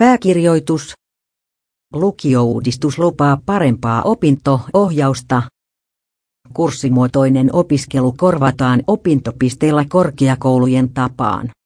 Pääkirjoitus. Lukiouudistus lupaa parempaa opinto-ohjausta. Kurssimuotoinen opiskelu korvataan opintopisteillä korkeakoulujen tapaan.